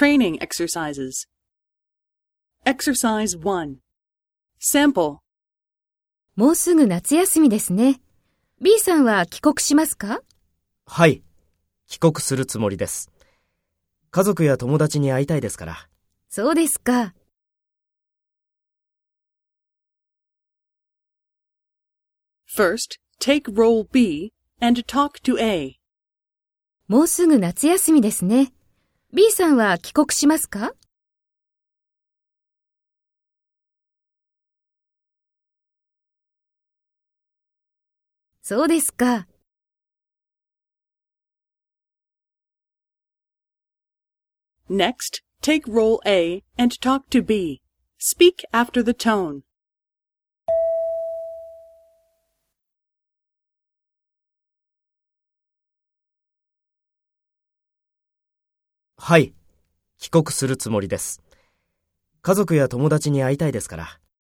Training exercises. Exercise 1. Sample. もうすぐ夏休みですね。B さんは帰国しますか？ はい。帰国するつもりです。家族や友達に会いたいですから。 そうですか。 First, take role B and talk to A. もうすぐ夏休みですね。B さんは帰国しますか？そうですか。 Next, take role A and talk to B. Speak after the tone. はい。帰国するつもりです。家族や友達に会いたいですから。